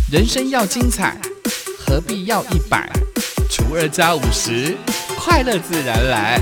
人生要精彩，何必要100除2加50，快乐自然来。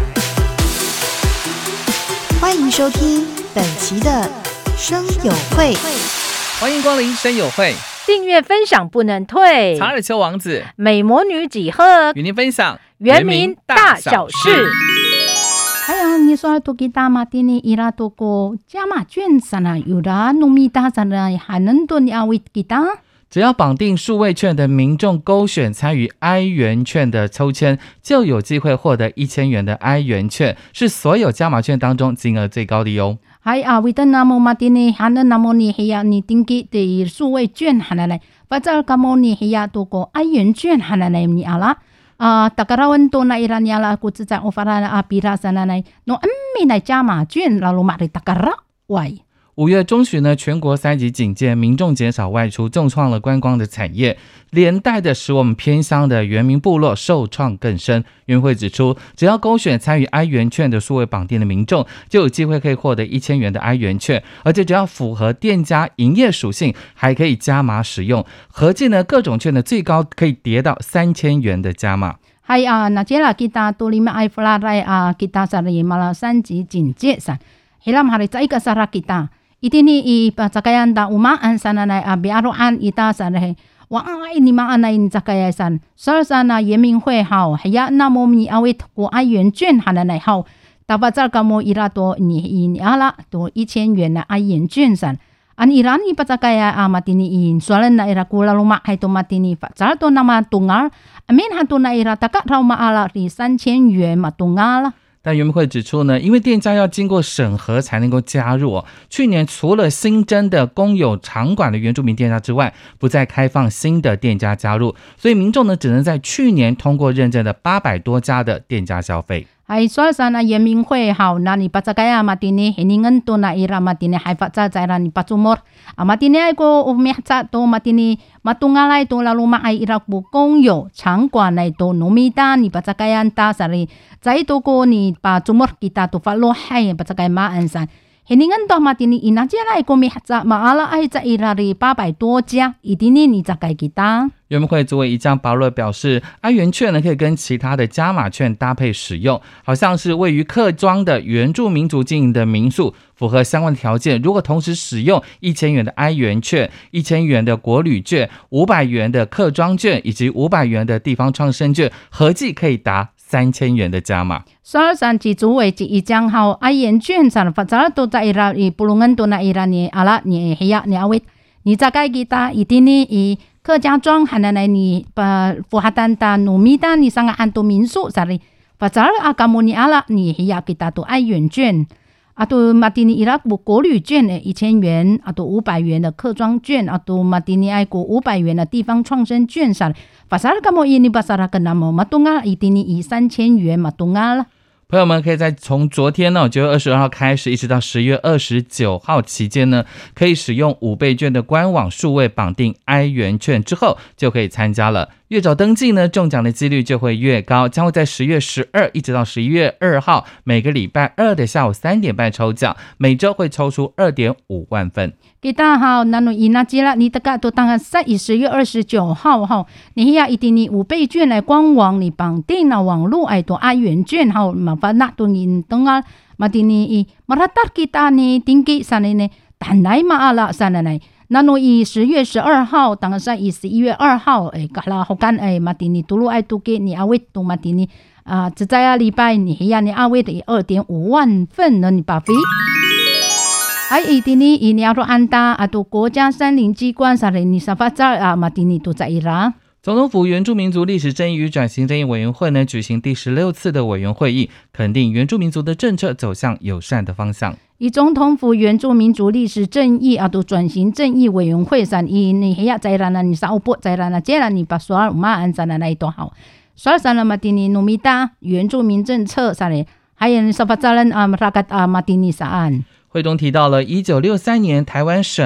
欢迎收听本期的声友会， 欢迎光临声友会， 订阅分享不能退。 查尔丘王子、 美魔女几何与您分享原民大小事。哎呀，你说多给大马的呢？伊拉多个加码券啥呢？有的农民大啥呢？还能多你阿位给大？ 只要绑定数位券的民众勾选参与 I 元券的抽签，就有机会获得1000元的 I 元券，是所有加码券当中金额最高的哟。 係啊，為得那麼馬啲呢，還能那麼你係啊，你定期的數位券係嚟，或者咁麼你係啊，多個I元券係嚟你阿啦。大家揾到那一啦，你阿啦，估計在我發啦啊，比啦啥嚟，我咪嚟加碼券，然後買嚟大家啦，喂。 5月中旬呢，全國3級警戒，民眾減少外出，重創了觀光的產業，連帶的使我們偏鄉的原民部落受創更深。原會指出，只要勾選參與 I 元券的數位綁定的民眾，就有機會可以獲得1000元的 I 元券，而且只要符合店家營業屬性，還可以加碼使用。合計呢，各種券的最高可以跌到3000元的加碼。 係啊，那這啦kita tulima ay flaray kita sa malah 3級警戒san. Hilam hari sa ika sara kita. Itini i pasakayan da umaan sana na biaroan ita sana wa ini maan na in zakayasan so sana 原民会好呀那么mi awit ko ai 元券hana na好dapat sa kamo ira to ni ala to 1000元na ai 元券san an irani pasakaya matini in soalan na ira kula luma hay to matini fa to nama tungal amin hanto na ira taka raw maala ri 3000元matungal。 但原民会指出呢，因为店家要经过审核才能够加入去年除了新增的公有场馆的原住民店家之外，不再开放新的店家加入，所以民众呢只能在去年通过认证的800多家的店家消费。 ay soal sana 原民会好那你pasakaya matini hiningan to na ira matini hay fatsa zaira ni patsumor matini ay ko umihsa to matini matungalay to laluma ay ira po 公有场馆来to nomita ni pasakayan ta sari zai to ko ni patsumor kita to follow hay pasakay maansan hiningan to matini inajela ay ko mihsa maala ay za ira ri 800多家 idini ni zakay kita。 原民会主委一江保罗表示，I 元券呢可以跟其他的加码券搭配使用，好像是位于客庄的原住民族经营的民宿，符合相关的条件，如果同时使用1000元的 I 元券、1000元的国旅券、500元的客庄券以及500元的地方创生券，合计可以达3000元的加码。 soal san ci主委一江好 I 元券san fatsara to za ira i pulungan to na ira ni ala ni hiya ni awit ni zakay kita itini i客家庄还能来你把富哈丹达努米达你上个安多民宿啥的，把这阿卡莫尼阿拉你还要给他都爱元券，啊都马蒂尼伊拉国国旅券的1000元，啊都500元的客庄券，啊都马蒂尼爱国500元的地方创生券啥的，把啥卡莫伊尼把啥个那么马东啊，一定以3000元马东啊了。 朋友们可以在从昨天呢9月22号开始一直到10月29号期间呢，可以使用5倍券的官网数位绑定 I 元券之后就可以参加了。越早登记呢，中奖的几率就会越高，将会在10月12一直到11月2号每个礼拜二的下午3点半抽奖，每周会抽出2.5万份。 kita好，那侬伊那吉啦，你大概都当10月29号哈，你要一定你5倍券来官网你绑定了网络爱多 I 元券好，麻烦那都你等啊，马蒂尼伊马拉达 kita 呢定给啥呢？但来嘛阿拉啥呢？那侬以10月12号，当然以11月2号，嘎啦好干马蒂尼嘟噜爱都给你阿维都马蒂尼只在礼拜你要你阿维的2.5万份呢，你把费。一定你你要说安达啊，都国家山林机关啥的，你啥法子马蒂尼都在伊拉。 总统府原住民族历史正义与转型正义委员会呢举行第16次的委员会议，肯定原住民族的政策走向友善的方向。 以总统府原住民族历史正义都转型正义委员会上，你还要在那你啥不在那，接了你把所有马安在那一多好，所以上了马蒂尼努米达原住民政策啥的，还有啥法子人rakyat马蒂尼啥安。 会中提到了1963年台湾省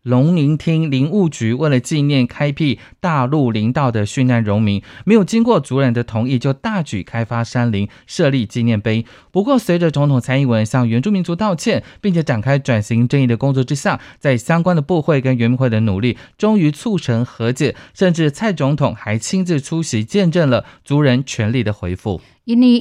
龙陵厅林务局为了纪念开辟大陆林道的殉难荣民，没有经过族人的同意就大举开发山林，设立纪念碑。不过随着总统蔡英文向原住民族道歉，并且展开转型正义的工作之下，在相关的部会跟原民会的努力，终于促成和解，甚至蔡总统还亲自出席见证了族人权利的恢复。 因为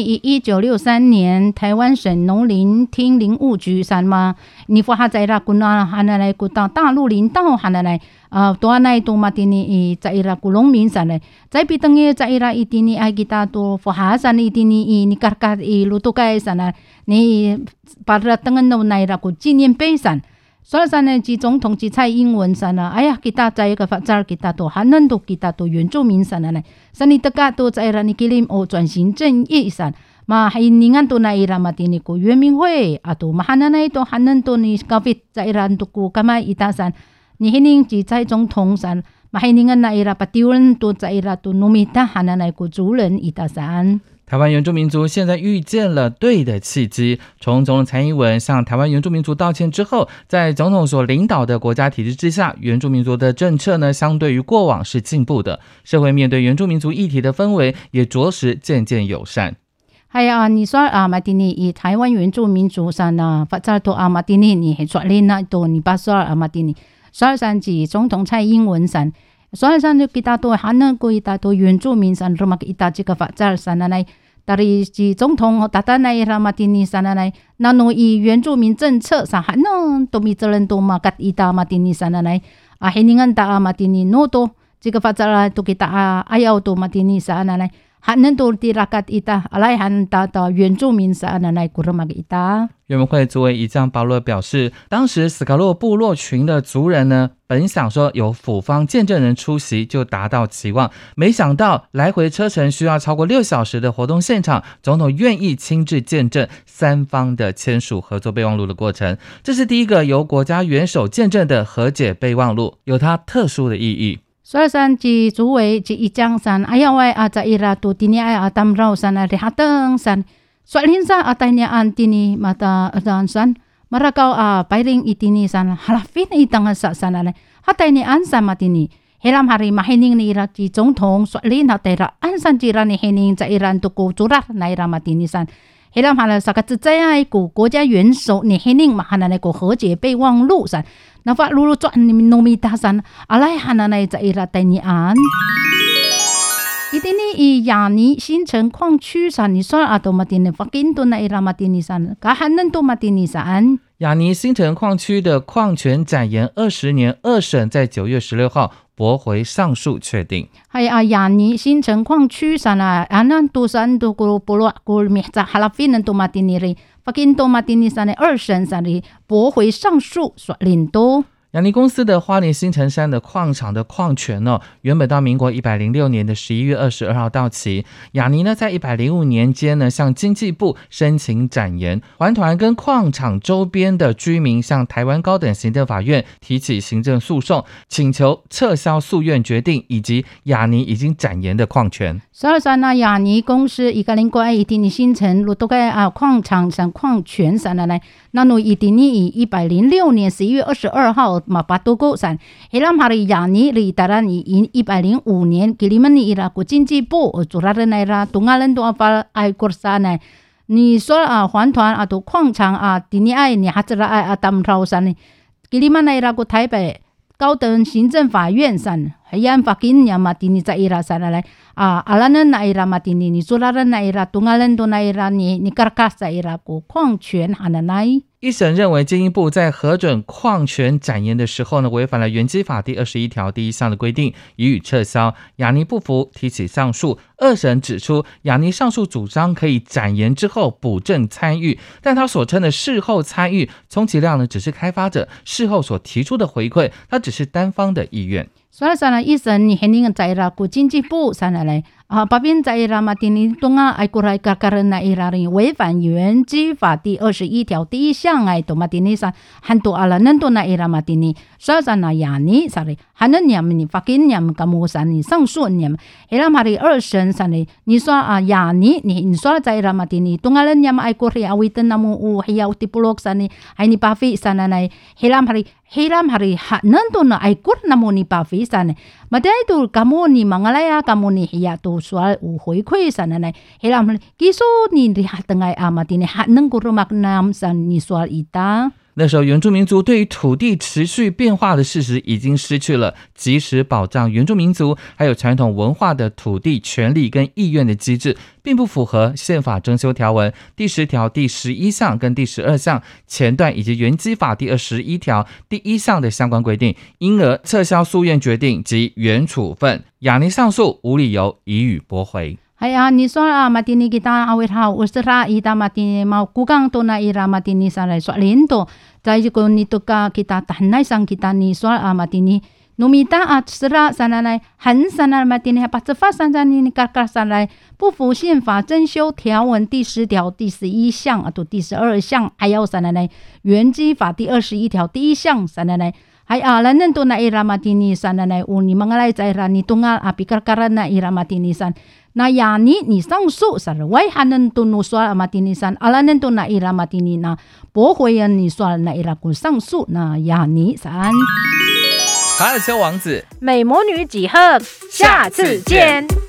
1963年台湾省农林厅林务局上嘛，你发在啦古那汉来古到大陆林道汉来多那多嘛的你在啦古农民上来，在比等于在啦一定你爱给大多发哈上一定你嘎嘎路都该上来，你把它等于弄来啦古纪念碑上。所以呢，即总统即蔡英文上啦，哎呀，kita在个发展kita都还能都kita都原住民上来，上你大家都在啦，你给你转型正义上，嘛还你按都那伊拉嘛的你个原民会啊都嘛还能那都还能都你高飞在伊拉都个干嘛伊大上，你还能即在总统上，嘛还你按那伊拉把丢人都在伊拉都农民大还能那个族人伊大上。 台湾原住民族现在遇见了对的契机，从总统蔡英文向台湾原住民族道歉之后，在总统所领导的国家体制之下，原住民族的政策呢，相对于过往是进步的，社会面对原住民族议题的氛围也着实渐渐友善。 系啊，你说马丁尼以台湾原住民族上呢，发展到马丁尼你说你那多你把说马丁尼，所以上至总统蔡英文上。所以上kita to hanan ko kita to 原住民san rumah kita jika fajar sana nai dari 总统tata nai ramatini sana nai nano 以原住民政策上hanan to mi jalan to makat ita matini sana nai hiningan ta matini no to jika fajar to kita ayaw to matini sana nai hanan to di rakat ita alai han ta to 原住民 sana nai kurumag ita。 原民会主委以将保罗表示，当时斯卡洛部落群的族人呢，本想说有府方见证人出席就达到期望，没想到来回车程需要超过6小时的活动现场，总统愿意亲自见证三方的签署合作备忘录的过程，这是第一个由国家元首见证的和解备忘录，有它特殊的意义。 所以上即主委即一张上，哎呀喂在伊拉都今年哎tam绕上来哈登上。Soalin sa atay niya antini mata dansan marakaw pairing itini san halafin itang sa sanale hatay ni ansa matini helam hari mahining ni ira ji 总统 soalin hatay ra ansan jira ni hining za iran tuku curah na ira matini san helam hala sa katsaya ku 国家元首你 hining mahana na ku 和解备忘录 san na fa lulu chuan ni nomita san alay hana na za ira tay ni an一定以雅尼新城矿区上，你说都马丁尼发金多那伊拉马丁尼上，噶还能多马丁尼上。 雅尼新城矿区的矿权展延20年，2审在9月16号驳回上诉确定。 系雅尼新城矿区上啊，那多山多个部落个米在哈拉菲能多马丁尼里，发金多马丁尼上的2审上里驳回上诉，说领多。 雅尼公司的花莲新城山的矿场的矿权原本到民国106年的11月22号到期。雅尼呢，在105年间呢，向经济部申请展延，环团跟矿场周边的居民向台湾高等行政法院提起行政诉讼，请求撤销诉愿决定以及雅尼已经展延的矿权。 所以说呢，雅尼公司一个人过一定的新城路都该矿场上矿权上来，那侬一定以106年11月22号嘛把都够上，helam hari yani ri taran i 105年给你们的ira ku经济部主任来啦，tungalan tu apa ai kursana，你说环团都矿场第二爱你还是爱当朝上呢，给你们来啦ku台北高等行政法院上，还按法金呀嘛，你在ira sana来alanan na ira matini ni sularan na ira tungalan tu na ira ni karkas sa ira ku 矿权hananai。 一审认为，经济部在核准矿权展延的时候呢，违反了原基法第21条第1项的规定，予以撤销。雅尼不服，提起上诉。2审指出，雅尼上诉主张可以展延之后补正参与，但他所称的事后参与，充其量呢只是开发者事后所提出的回馈，它只是单方的意愿。 所以说呢，一审你肯定在了经济部上来巴边在了嘛，丁东爱过来个人那伊拉人违反原基法第21条第1项都嘛丁上很多阿拉能多那伊拉嘛丁所以说呢，雅尼上来还能你们发给你们干么上你上诉你们，伊拉嘛的2审上来，你说雅尼你说在了嘛丁东阿拉你们爱过来维登那么还要提布洛上呢，还你巴菲上来伊拉嘛的 hiram hari hanan to na ay kur na mo ni pa fisan maday to kamo ni mangalaya kamo ni hiya to swal u hoi khoi san na hiram kiso ni ri hatangai amati ni hanan kurumak nam san ni swal ita。 那时候原住民族对于土地持续变化的事实已经失去了及时保障原住民族还有传统文化的土地权利跟意愿的机制，并不符合宪法征修条文第10条第11项跟第12项前段以及原基法第21条第1项的相关规定，因而撤销诉愿决定及原处分。亚尼上诉无理由予以驳回。 Haya ni soal matini kita awet ha usra ita matini mau kukang to na ira matini sarai soalin to jai ko ni to ka kita tahnai sang kita ni soal matini numita at sra sananai han sanar matini pa tsefa sanani ni karkar sanai 不符宪法征修条文第10条第11项啊，第12项还有sananai原基法第21条第1项sananai hay alanan to na ira matinisan na uni mangalay sa ira ni tungal apikarkaran na ira matinisan na yani ni sangsu sarway hanan to no swal matinisan alanan to na ira matinina bohoyan ni swal na ira kun sangsu na yani san。 卡尔丘王子， 美魔女几何，下次见。